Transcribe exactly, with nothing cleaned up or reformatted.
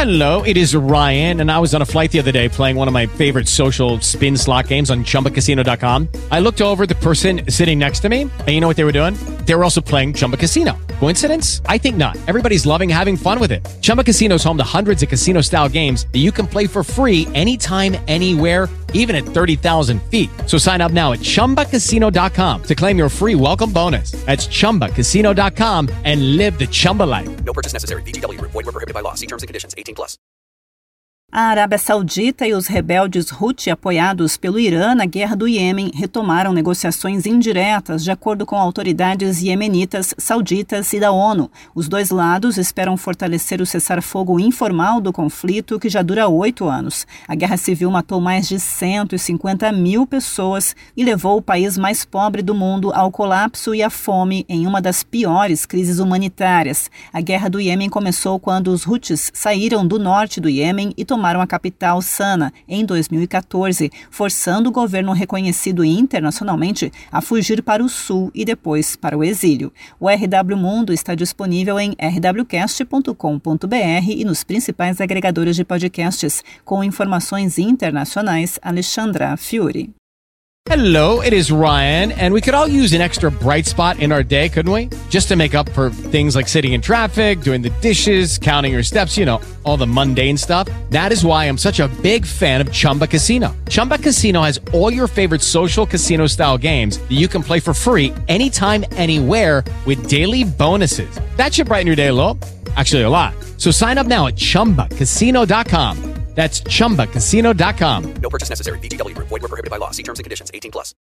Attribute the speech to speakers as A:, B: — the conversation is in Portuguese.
A: Hello, it is Ryan, and I was on a flight the other day playing one of my favorite social spin slot games on Chumba Casino dot com. I looked over at the person sitting next to me, and you know what they were doing? They were also playing Chumba Casino. Coincidence? I think not. Everybody's loving having fun with it. Chumba Casino is home to hundreds of casino-style games that you can play for free anytime, anywhere, even at thirty thousand feet. So sign up now at Chumba Casino dot com to claim your free welcome bonus. That's Chumba Casino dot com and live the Chumba life.
B: No purchase necessary. V G W. Void where prohibited by law. See terms and conditions. eighteen plus.
C: A Arábia Saudita e os rebeldes Houthi, apoiados pelo Irã na guerra do Iêmen, retomaram negociações indiretas, de acordo com autoridades iemenitas, sauditas e da ONU. Os dois lados esperam fortalecer o cessar-fogo informal do conflito, que já dura oito anos. A guerra civil matou mais de cento e cinquenta mil pessoas e levou o país mais pobre do mundo ao colapso e à fome em uma das piores crises humanitárias. A guerra do Iêmen começou quando os Houthis saíram do norte do Iêmen e tomaram a capital Sana em dois mil e catorze, forçando o governo reconhecido internacionalmente a fugir para o sul e depois para o exílio. O R W Mundo está disponível em r w cast ponto com ponto b r e nos principais agregadores de podcasts. Com informações internacionais, Alexandra Fiore.
A: Hello, it is Ryan, and we could all use an extra bright spot in our day, couldn't we? Just to make up for things like sitting in traffic, doing the dishes, counting your steps, you know, all the mundane stuff. That is why I'm such a big fan of Chumba Casino. Chumba Casino has all your favorite social casino-style games that you can play for free anytime, anywhere with daily bonuses. That should brighten your day a little. Actually, a lot. So sign up now at Chumba Casino dot com. That's Chumba Casino dot com.
B: No purchase necessary. V G W. Void where prohibited by law. See terms and conditions. eighteen plus.